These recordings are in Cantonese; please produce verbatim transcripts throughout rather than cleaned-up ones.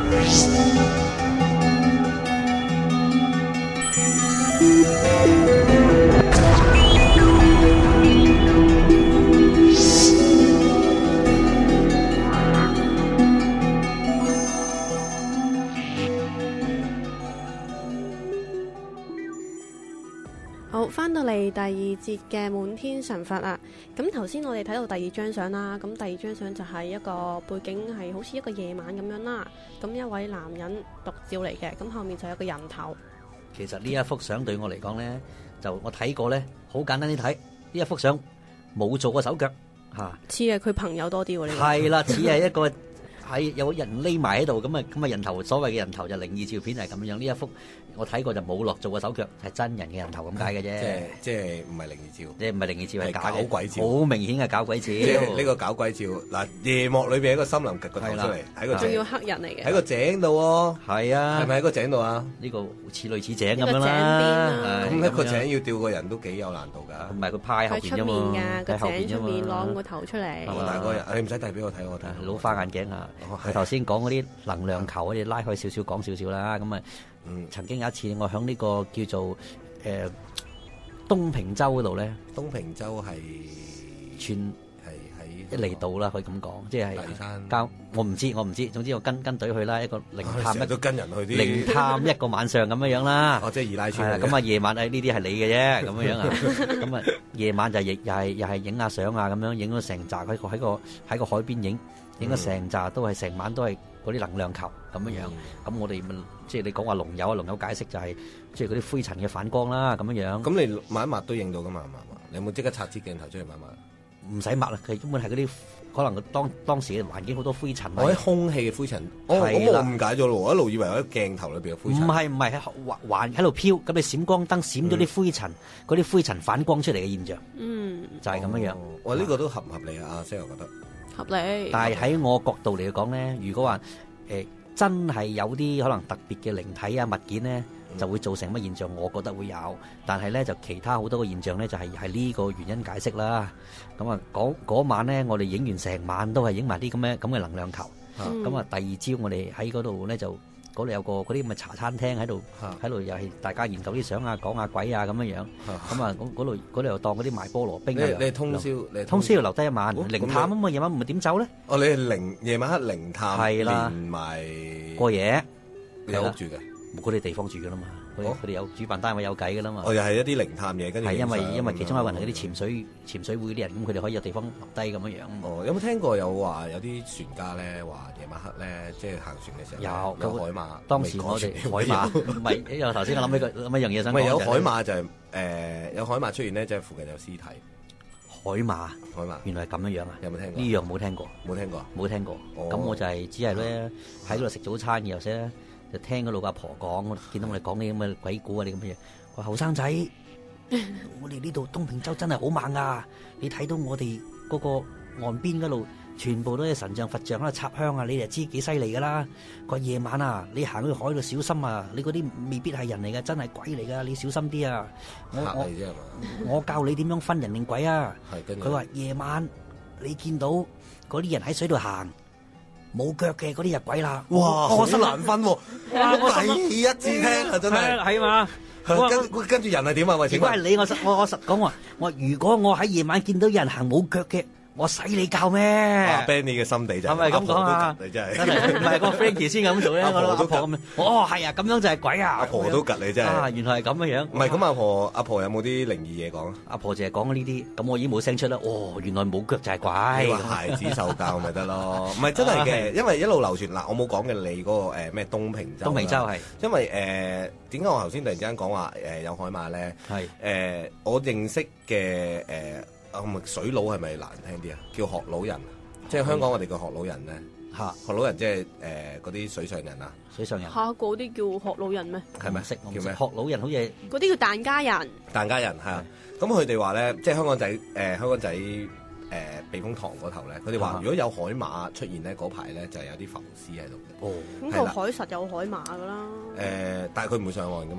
好，翻到嚟第二節嘅滿天神佛啦。咁頭先我哋睇到第二張相啦，咁第二張相就係一個背景係好似一個夜晚咁樣啦。咁一位男人獨照嚟嘅，咁後面就有個人頭。 其實呢一幅相對我嚟講咧，就我睇過咧，好簡單啲睇。呢一幅相冇做過手腳嚇， 似係佢朋友多啲喎。呢個係啦，似係一個係有人匿埋喺度咁啊，咁啊人頭，所謂嘅人頭就靈異照片係咁樣。呢一幅我睇過就冇落做過手腳，係真人嘅人頭咁解嘅啫。 即係即係唔係靈異照， 即係唔係靈異照，係假搞鬼照， 好明顯係搞鬼照。 即係呢個搞鬼照嗱，夜幕裏邊喺個森林趌個頭出嚟，喺個仲要黑人嚟嘅， 喺個井度喎。 係啊， 係咪喺個井度啊？ 呢個似類似井咁樣啦。 咁一個井要吊個人都幾有難度㗎。 唔係佢派後邊啫嘛， 喺個井出面攞個頭出嚟。 大個人，你唔使遞俾我睇，我睇老花眼鏡啊！佢頭先講嗰啲能量球，我哋拉開少少講少少啦。咁啊，曾經有一次我喺呢個叫做誒東平洲嗰度咧， 東平洲係全係喺一離島啦，可以咁講，即係交我唔知，我唔知。總之我跟跟隊去啦，一個靈探一都跟人去啲靈探一個晚上咁樣樣啦。 哦，即係二奶村。 咁啊，夜晚誒呢啲係你嘅啫，咁樣樣啊。咁啊，夜晚就亦又係又係影下相啊，咁樣影咗成紮喺個喺個喺個海邊影，影咗成紮都係成晚都係嗰啲能量球咁樣樣。咁我哋咪即係你講話龍友啊，龍友解釋就係即係嗰啲灰塵嘅反光啦，咁樣樣。 咁你抹一抹都影到噶嘛？你有冇即刻拆支鏡頭出嚟抹一抹？ 唔使抹啦，佢根本係嗰啲可能當當時嘅環境好多灰塵。 我喺空氣嘅灰塵，我我誤解咗咯，我一路以為我喺鏡頭裏邊嘅灰塵。 唔係唔係喺環喺度飄，咁你閃光燈閃咗啲灰塵，嗰啲灰塵反光出嚟嘅現象。 嗯， 就係咁樣樣。 哇，呢個都合唔合理啊？阿 Sir 覺得合理。 但係喺我角度嚟講咧，如果話誒真係有啲可能特別嘅靈體啊物件咧，就會造成乜現象？我覺得會有，但係咧就其他好多個現象咧，就係係呢個原因解釋啦。咁啊，嗰嗰晚咧，我哋影完成晚都係影埋啲咁嘅咁嘅能量球。咁啊，第二朝我哋喺嗰度咧就嗰度有個嗰啲咁嘅茶餐廳喺度，喺度又係大家研究啲相啊、講下鬼啊咁樣樣。咁啊，嗰嗰度嗰度又當嗰啲賣菠蘿冰啊。 你你通宵，你通宵要留低一晚靈探啊嘛，夜晚唔係點走咧？ 哦，你係靈夜晚黑靈探， 係啦， 連埋過夜， 有屋住嘅。 冇嗰啲地方住噶啦嘛，佢佢哋有主辦單位有計噶啦嘛。 哦，又係一啲靈探嘢，跟住係因為因為其中一個人係嗰啲潛水潛水會啲人，咁佢哋可以有地方留低咁樣樣。 哦，有冇聽過有話有啲船家咧話夜晚黑咧，即係行船嘅時候有有海馬。 當時我哋海馬唔係，因為頭先我諗起個諗一樣嘢想講。 唔係有海馬就係誒有海馬出現咧，即係附近有屍體。 海馬海馬原來係咁樣樣啊？ 有冇聽過？ 呢樣冇聽過， 冇聽過， 冇聽過。咁我就係只係咧喺嗰度食早餐嘅時候咧。就聽嗰度阿婆講，見到我哋講啲咁嘅鬼故啊啲咁嘅嘢，話後生仔，我哋呢度東平洲真係好猛啊！你睇到我哋嗰個岸邊嗰度，全部都係神像佛像喺度插香啊！你哋知幾犀利噶啦！個夜晚啊，你行去海度小心啊！你嗰啲未必係人嚟嘅，真係鬼嚟噶，你小心啲啊！我我我教你點樣分人定鬼啊！佢話夜晚你見到嗰啲人喺水度行。冇腳嘅嗰啲入鬼啦！ 哇，好難分喎！我第一次聽啊，真係係嘛？ 跟跟住人係點啊？喂， 如果係你，我實我我實講話，我如果我喺夜晚見到有人行冇腳嘅。我使你教咩？ 阿 Benny 嘅心地就係咪咁講啊？ 你真係真係唔係個 Frankie 先咁做咧？阿婆都咁樣。哦，係啊，咁樣就係鬼啊！ 阿婆都吉你真係。 啊，原來係咁嘅樣。 唔係咁，阿婆阿婆有冇啲靈異嘢講啊？ 阿婆淨係講呢啲，咁我已經冇聲出啦。哦，原來冇腳就係鬼。 你話孩子受教咪得咯？唔係真係嘅，因為一路流傳嗱，我冇講嘅你嗰個誒咩東平洲。 東平洲係。因為誒點解我頭先突然之間講話誒有海馬咧？係誒我認識嘅誒。啊，咪水佬係咪難聽啲啊？叫學老人，即係香港我哋叫學老人咧。嚇，學老人即係誒嗰啲水上人啊。水上人。嚇，嗰啲叫學老人咩？係咪識叫咩？學老人好似嗰啲叫疍家人。疍家人係啊，咁佢哋話咧，即係香港仔誒香港仔誒避風塘嗰頭咧，佢哋話如果有海馬出現咧，嗰排咧就係有啲浮屍喺度嘅。哦，咁個海實有海馬㗎啦。誒，但係佢唔會上岸㗎嘛。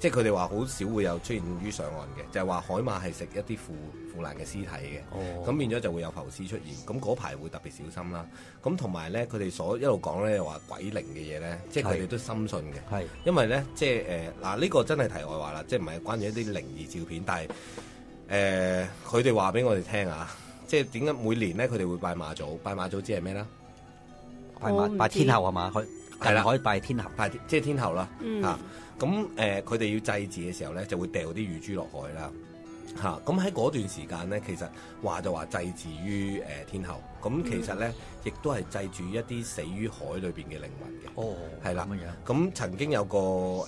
即係佢哋話好少會有出現於上岸嘅，就係、是、話海馬係食一啲腐腐爛嘅屍體嘅，咁、哦、變咗就會有浮屍出現，咁嗰排會特別小心啦。咁同埋咧，佢哋所一路講咧話鬼靈嘅嘢咧，即係佢哋都深信嘅，係因為咧即係誒嗱呢個真係題外話啦，即係唔係關於一啲靈異照片，但係誒佢哋話俾我哋聽啊，即係點解每年咧佢哋會拜馬祖？拜馬祖知係咩啦？ 拜馬拜天后係嘛？佢係啦，可以拜天后， 拜即係天后啦， 嗯、 啊咁誒，佢哋要祭祀嘅時候咧，就會掉啲乳豬落海啦，嚇咁喺嗰段時間咧，其實話就話祭祀於誒天后，咁其實咧亦都係祭住一啲死於海裏邊嘅靈魂嘅， 哦， 係啦，咁樣，咁曾經有個誒誒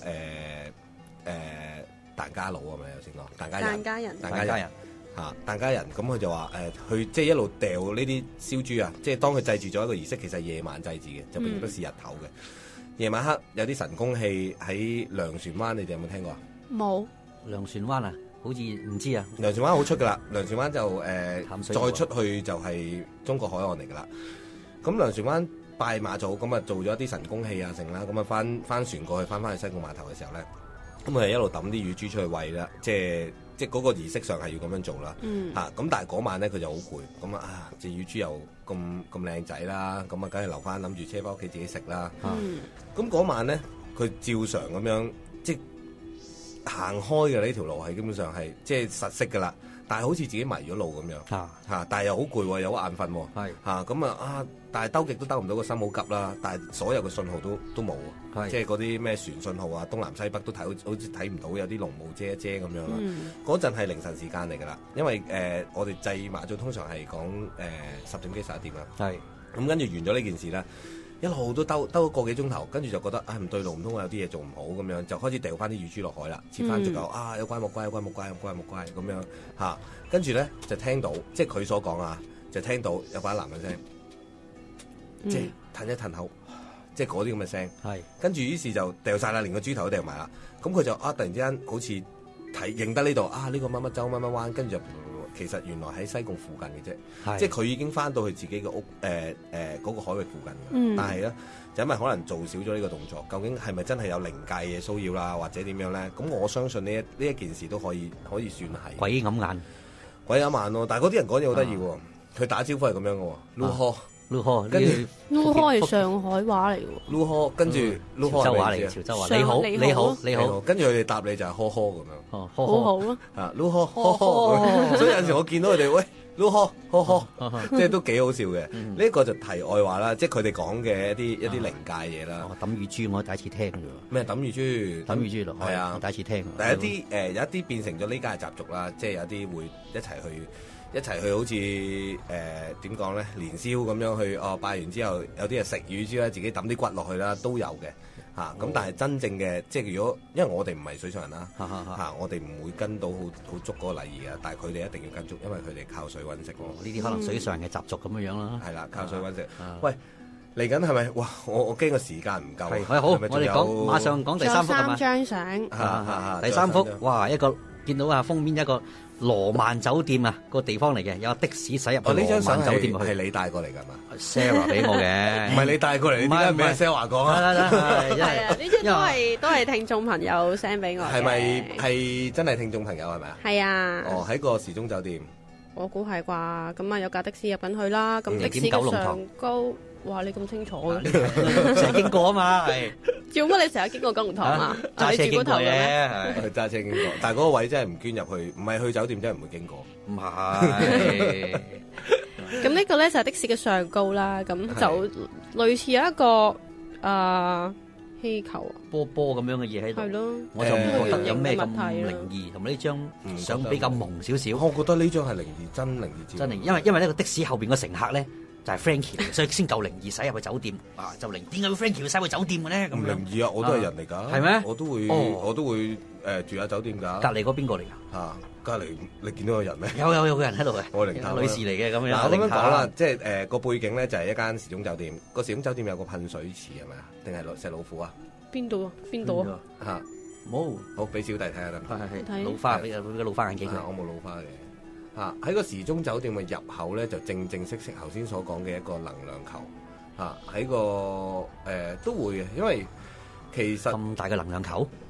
疍家佬係咪有先講？疍家人， 疍家人， 疍家人嚇，疍家人，咁佢就話誒，去即係一路掉呢啲燒豬啊，即係當佢祭祀咗一個儀式，其實係夜晚祭祀嘅，就並不是日頭嘅。夜晚黑有啲神功戲喺糧船灣，你哋有冇聽過啊？ 冇。 糧船灣啊，好似唔知啊。 糧船灣好出噶啦，糧船灣就誒、呃、再出去就係中國海岸嚟噶啦。咁糧船灣拜馬祖，咁啊做咗一啲神功戲啊成啦，咁啊翻翻船過去，翻翻去西貢碼頭嘅時候咧，咁佢係一路抌啲乳豬出去餵啦，即係即係嗰個儀式上係要咁樣做啦。嗯。嚇、啊，咁但係嗰晚咧佢就好攰，咁啊隻乳豬又咁咁靚仔啦，咁啊梗係留翻諗住車翻屋企自己食啦。嗯。咁嗰晚咧，佢照常咁樣即係行開嘅呢條路係基本上係即係實色㗎啦，但係好似自己迷咗路咁樣嚇嚇，但係又好攰喎，有好眼瞓喎，係嚇咁啊啊！但係兜極都兜唔到，個心好急啦，但係所有嘅信號都都冇喎，即係嗰啲咩船信號啊，東南西北都睇好好似睇唔到，有啲濃霧遮一遮咁樣啦。嗰陣係凌晨時間嚟㗎啦，因為誒、呃、我哋祭馬祖通常係講誒十點幾十一點啦，係咁跟住完咗呢件事啦。一路都兜兜咗個幾鐘頭，跟住就覺得啊唔對路，唔通我有啲嘢做唔好咁樣，就開始掉翻啲乳豬落海啦，切翻隻狗啊有乖冇乖有乖冇乖有乖冇乖咁樣嚇，跟住咧就聽到即係佢所講啊，就聽到有把男人聲，嗯、即係褪一褪口，即係嗰啲咁嘅聲，係跟住於是就掉晒啦，連個豬頭都掉埋啦，咁佢就啊突然之間好似睇認得呢度啊呢、呢個乜乜洲乜乜灣，跟住就。其實原來喺西貢附近嘅啫，即係佢已經翻到去自己嘅屋，誒誒嗰個海域附近嘅。嗯、但係咧，就因為可能做少咗呢個動作，究竟係咪真係有靈界嘅騷擾啦，或者點樣咧？咁我相信呢一呢一件事都可以可以算係鬼揞眼， 鬼揞眼咯。但係嗰啲人講嘢好得意喎，佢、啊、打招呼係咁樣嘅喎 ，Luho。 擼殼， 跟住擼殼係上海話嚟嘅喎。 擼殼，跟住擼殼潮州話嚟嘅，潮州話。你好，你好，你好。跟住佢哋答你就係呵呵咁樣。 哦， 好好咯。 啊，擼殼，呵呵。所以有陣時我見到佢哋，喂，擼殼，呵呵，即係都幾好笑嘅。呢一個就題外話啦，即係佢哋講嘅一啲一啲靈界嘢啦。 抌乳豬我第一次聽㗎喎。 咩抌乳豬？ 抌乳豬咯。係啊， 第一次聽。 但係一啲誒有一啲變成咗呢家嘅習俗啦，即係有啲會一齊去。一齊去好似誒點講咧，年宵咁樣去哦，拜完之後有啲係食乳豬啦，自己抌啲骨落去啦，都有嘅嚇。咁、啊哦、但係真正嘅即係如果因為我哋唔係水上人啦嚇、啊，我哋唔會跟到好好足嗰個禮儀嘅，但係佢哋一定要跟足，因為佢哋靠水揾食喎。呢啲、哦、可能水上人嘅習俗咁樣樣啦。係啦，靠水揾食。啊、喂，嚟緊係咪？哇！我我驚個時間唔夠。係好，是是我哋講馬上講第三幅係嘛？ 張相。 第三幅，哇！一個見到啊封面一個。羅曼酒店啊，個地方嚟嘅，有的士駛入去羅曼酒店去。係你帶過嚟㗎嘛 ？Sarah 俾我嘅，唔係你帶過嚟，點解唔係 Sarah 講啊？係啊，呢張都係都係聽眾朋友 send 俾我嘅。 係咪係真係聽眾朋友係咪啊？ 係啊。 哦，喺個時鐘酒店。 我估係啩，咁啊有架的士入緊去啦，咁的士嘅上高，哇！你咁清楚嘅， 成日經過啊嘛，係。 做乜你成日經過九龍塘啊？ 揸車經過嘅， 係揸車經過，但係嗰個位真係唔捐入去，唔係去酒店真係唔會經過。 唔係。 咁呢個咧就係的士嘅上高啦，咁就類似有一個誒氣球啊， 波波咁樣嘅嘢喺度。係咯。我就唔覺得有咩咁靈異，同埋呢張相比較朦少少。 我覺得呢張係靈異，真靈異。 真靈，因為因為呢個的士後邊個乘客咧。就係 Frankie，所以先夠靈異，駛入去酒店啊！就靈，點解會 Frankie 會駛去酒店嘅咧？咁唔靈異啊！我都係人嚟㗎， 係咩？ 我都會，我都會誒住下酒店㗎。 隔離嗰邊個嚟㗎？ 嚇，隔離你見到個人咩？ 有有有個人喺度嘅， 我靈探女士嚟嘅咁樣。 嗱，咁樣講啦，即係誒個背景咧就係一間時鐘酒店，個時鐘酒店有個噴水池係咪啊？定係石老虎啊？ 邊度啊？邊度啊？ 嚇冇，好俾小弟睇下得唔得？ 係係老花俾個老花眼鏡佢。 我冇老花嘅。嚇喺個時鐘酒店嘅入口咧，就正正式式頭先所講嘅一個能量球。嚇喺個誒、呃、都會嘅，因為其實咁大嘅能量球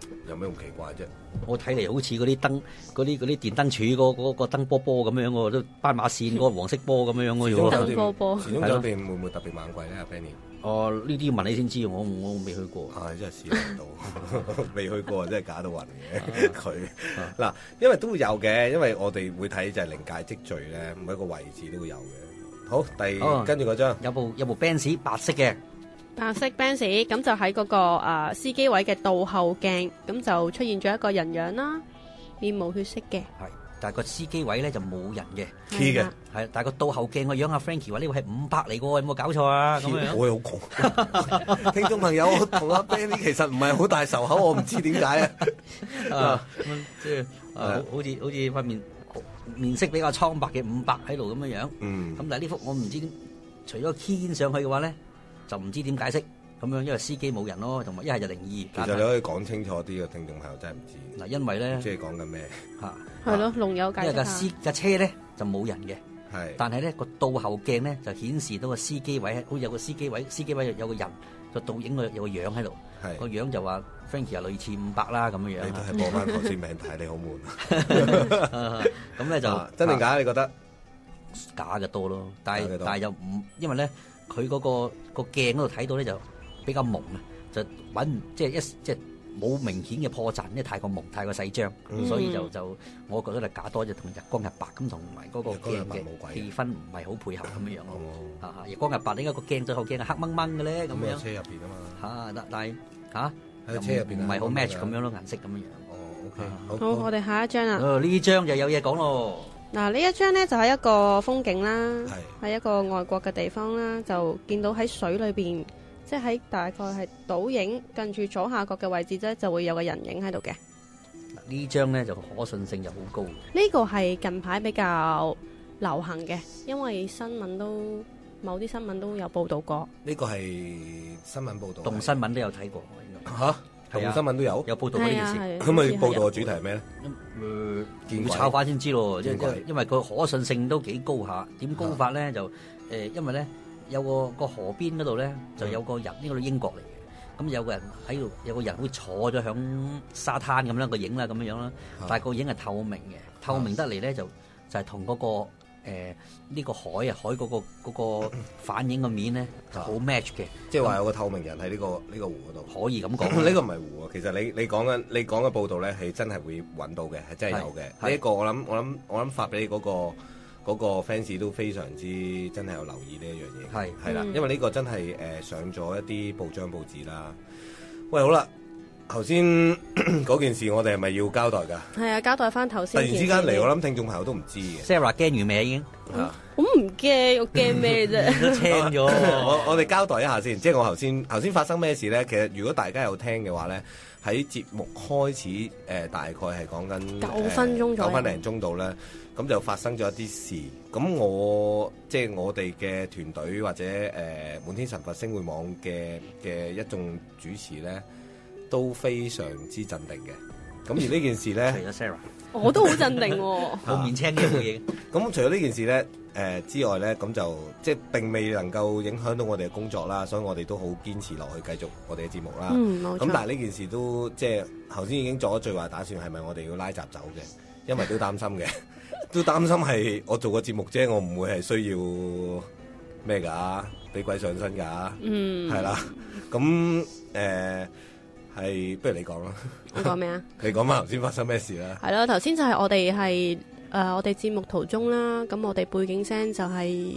有咩咁奇怪啫？ 我睇嚟好似嗰啲燈，嗰啲嗰啲電燈柱嗰嗰個燈波波咁樣喎，都斑馬線嗰個黃色波咁樣樣嘅喎。 燈波波。 時鐘酒店會唔會特別猛貴咧？阿 Benny？ 哦，呢啲要問你先知，我我未去過。 啊，真係試唔到，未去過真係假到暈嘅佢。嗱，因為都會有嘅，因為我哋會睇就係靈界積聚咧，每一個位置都會有嘅。好，第、哦、跟住嗰張有部有部 Benz 白色嘅。 白色 Benz 咁就喺嗰、那個、呃、司機位嘅倒後鏡，咁就出現咗一個人樣啦，面無血色嘅。 係，但係個司機位咧就冇人嘅 ，key 嘅。 係，但係個倒後鏡個樣阿 Frankie 話呢位係五百嚟嘅喎，有冇搞錯啊？咁樣我好窮，聽眾朋友，我同阿 Benny 其實唔係好大仇口，我唔知點解啊。 即係好似好似塊面面色比較蒼白嘅五百喺度咁樣樣。嗯。咁但係呢幅我唔知，除咗 key 上去嘅話咧。就唔知點解釋咁樣，因為司機冇人咯，同埋一係就靈異。 其實你可以講清楚啲嘅，聽眾朋友真係唔知。 嗱，因為咧， 即係講緊咩嚇？ 係咯，龍友解釋下。 因為架司架車咧就冇人嘅， 係。 但係咧個倒後鏡咧就顯示到個司機位，好似有個司機位，司機位有個人個倒影個有個樣喺度。係。個樣就話 Frankie 係類似五百啦咁樣樣。 你都係播翻頭先名牌，你好悶。 咁咧就真定假？你覺得假嘅多咯，但係但係又唔，因為咧。佢嗰、那個個鏡嗰度睇到咧就比較朦啊，就揾唔即係一即係冇明顯嘅破綻，因為太過朦太過細張，嗯、所以就就我覺得係假多，就同日光日白咁同埋嗰個鏡嘅氣氛唔係好配合咁樣樣咯。啊、嗯、日光日白點解個鏡最後鏡係黑掹掹嘅咧？咁樣車入邊啊嘛嚇，但但係嚇喺車入邊唔係好 match 咁樣咯，顏色咁樣樣。 哦 ，OK， 好，好好我哋下一張啊。 哦，呢張就有嘢講咯。 嗱，呢一張咧就係一個風景啦，係一個外國嘅地方啦，就見到喺水裏邊，即係喺大概係倒影近住左下角嘅位置咧，就會有個人影喺度嘅。 呢張咧就可信性就好高。 呢個係近排比較流行嘅，因為新聞都某啲新聞都有報導過。 呢個係新聞報導， 動新聞都有睇過。 嚇？同新聞都有有報導呢件事， 咁咪報導嘅主題係咩咧？ 誒，要炒翻先知咯，即係因為佢可信性都幾高下。點高法咧就誒，因為咧有個個河邊嗰度咧就有個人，呢個英國嚟嘅。咁有個人喺度，有個人會坐咗響沙灘咁樣個影啦，咁樣樣啦。但係個影係透明嘅，透明得嚟咧就就係同嗰個。誒呢、呃這個海啊，海嗰、那個那個反映個面咧就好 match 嘅， 即係話有個透明人喺呢、這個呢、這個湖嗰度， 可以咁講。 呢個唔係湖啊，其實你你講緊你講嘅報道咧係真係會揾到嘅，係真係有嘅。呢一個我諗我諗我諗發俾你嗰、那個嗰、那個 fans 都非常之真係有留意呢一樣嘢，係係啦，因為呢個真係誒、呃、上咗一啲報章報紙啦。喂，好啦。頭先嗰件事，我哋係咪要交代㗎？係啊，交代翻頭先。 突然之間嚟，我諗聽眾朋友都唔知嘅。 Sarah 驚完未已經？ 我唔驚，我驚咩啫？ 都聽咗。 我我哋交代一下先，即係我頭先頭先發生咩事咧？其實如果大家有聽嘅話咧，喺節目開始誒、呃，大概係講緊九分鐘左右， 九分零鐘度咧，咁就發生咗一啲事。咁我即係我哋嘅團隊或者誒、呃、滿天神佛星匯網嘅嘅一眾主持咧。都非常之鎮定嘅，咁而呢件事咧， 除咗 Sarah， 我都好鎮定喎， 好面青嘅冇嘢。 咁除咗呢件事咧，誒、呃、之外咧，咁就即係並未能夠影響到我哋嘅工作啦，所以我哋都好堅持落去繼續我哋嘅節目啦。 嗯，冇錯。 咁但係呢件事都即係頭先已經做咗最壞打算，係咪我哋要拉閘走嘅？因為都擔心嘅，都擔心係我做個節目啫，我唔會係需要咩㗎，俾鬼上身㗎。嗯，係啦，咁誒。呃係，不如你講啦。 我講咩啊？ 你講翻頭先發生咩事啦？ 係咯，頭先就係我哋係誒，我哋節目途中啦。咁我哋背景聲就係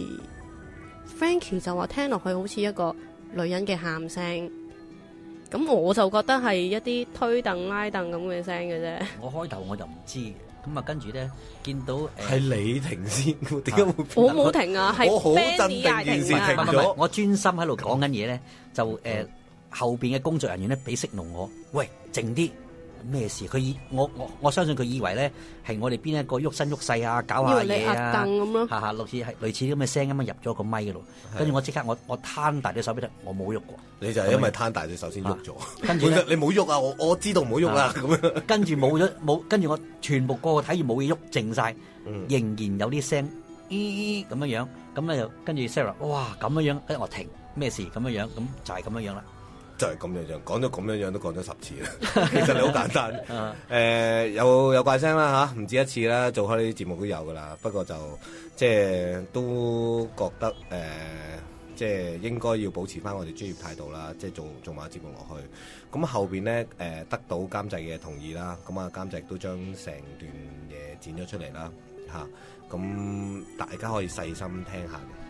Frankie 就話聽落去好似一個女人嘅喊聲。咁我就覺得係一啲推凳拉凳咁嘅聲嘅啫。 我開頭我就唔知嘅，咁啊跟住咧見到誒，係、 呃、你停先，點解會？ 我冇停啊，係我好鎮定，件事停咗。 我專心喺度講緊嘢咧，就誒。呃後邊嘅工作人員咧俾息怒我，喂，靜啲，咩事？佢以我我我相信佢以為咧係我哋邊一個喐身喐勢啊，搞下嘢啊， 咁咯， 下下類似係類似啲咁嘅聲咁樣入咗個咪嗰度，跟住我即刻我我攤大隻手俾佢，我冇喐過。 你就係因為攤大隻手先喐咗，跟住你冇喐啊！我我知道唔好喐啊！咁樣跟住冇咗冇，跟住我全部個個睇住冇嘢喐，靜晒，仍然有啲聲，咦咁樣樣，咁咧就跟住 Sarah，哇咁樣樣，跟住我停，咩事咁樣樣，咁就係咁樣樣啦。 就係咁樣樣，講咗咁樣樣都講咗十次啦。其實你好簡單，誒、呃、有有怪聲啦嚇，唔止一次啦，做開呢啲節目都有噶啦。不過就即係都覺得誒、呃，即係應該要保持翻我哋專業態度啦，即係做做埋節目落去。咁後邊咧誒得到監製嘅同意啦，咁啊監製都將成段嘢剪咗出嚟啦嚇。咁大家可以細心聽下嘅。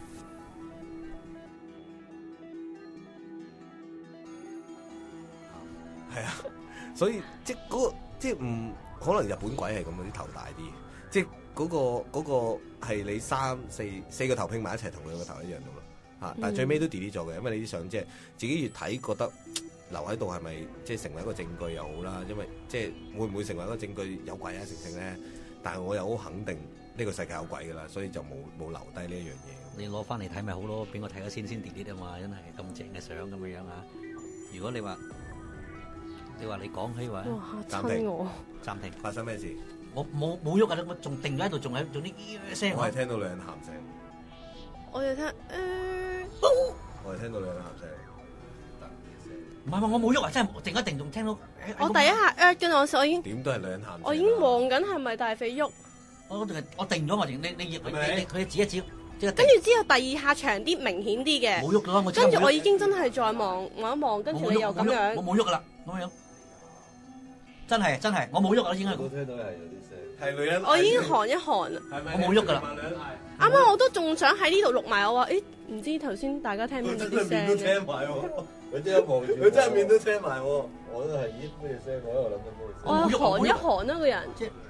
係啊，所以即係、那、嗰個即係唔可能日本鬼係咁嗰啲頭大啲，即係嗰、那個嗰、那個係你三四四個頭拼埋一齊同兩個頭一樣噶咯嚇，但係最尾都 delete 咗嘅，因為你啲相即係自己越睇覺得留喺度係咪即係成為一個證據又好啦，因為即係會唔會成為一個證據有鬼啊成成咧？但係我又好肯定呢個世界有鬼噶啦，所以就冇冇留低呢一樣嘢。 你攞翻嚟睇咪好咯，俾我睇咗先先 delete 啊嘛，真係咁正嘅相咁樣樣啊！如果你話，你話你講起話， 暫停我， 暫停， 發生咩事？ 我冇冇喐啊！我仲定咗喺度，仲係做啲聲。 我係聽到兩人喊聲。 我哋聽，誒， 我係聽到兩人喊聲。 唔係我冇喐啊！真係定一定仲聽到。 我第一下 at 嘅我我已經點都係兩人喊聲。 我已經望緊係咪大肥喐？ 我定我定咗我定，你你你你佢指一指。 跟住之後第二下長啲明顯啲嘅， 冇喐㗎，我跟住我已經真係再望望一望，跟住你又咁樣， 我冇喐噶啦，咁樣，真係真係，我冇喐啊，應該。 我聽到係有啲聲，係女人。 我已經寒一寒啦， 我冇喐噶啦。 啱啱我都仲想喺呢度錄埋，我話誒，唔知頭先大家聽唔聽到啲聲？ 面都聽埋喎，佢真係望住，佢真係面都聽埋喎。我都係咦咩聲？我喺度諗緊咩聲？ 我寒一寒啊個人。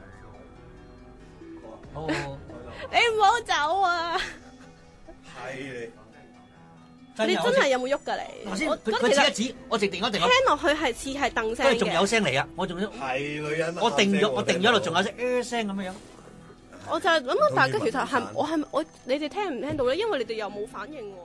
哦， 你唔好走啊！ 係你，你真係有冇喐㗎你？ 頭先佢佢指一指，我直定咗定。 聽落去係似係凳聲嘅。 跟住仲有聲嚟啊！我仲要係女人。 我定咗，我定咗喺度，仲有聲呃聲咁樣樣。 我就係諗到大家其實係我係我你哋聽唔聽到咧？因為你哋又冇反應喎。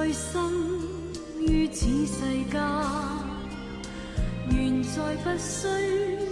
歲生於此世間，願再不需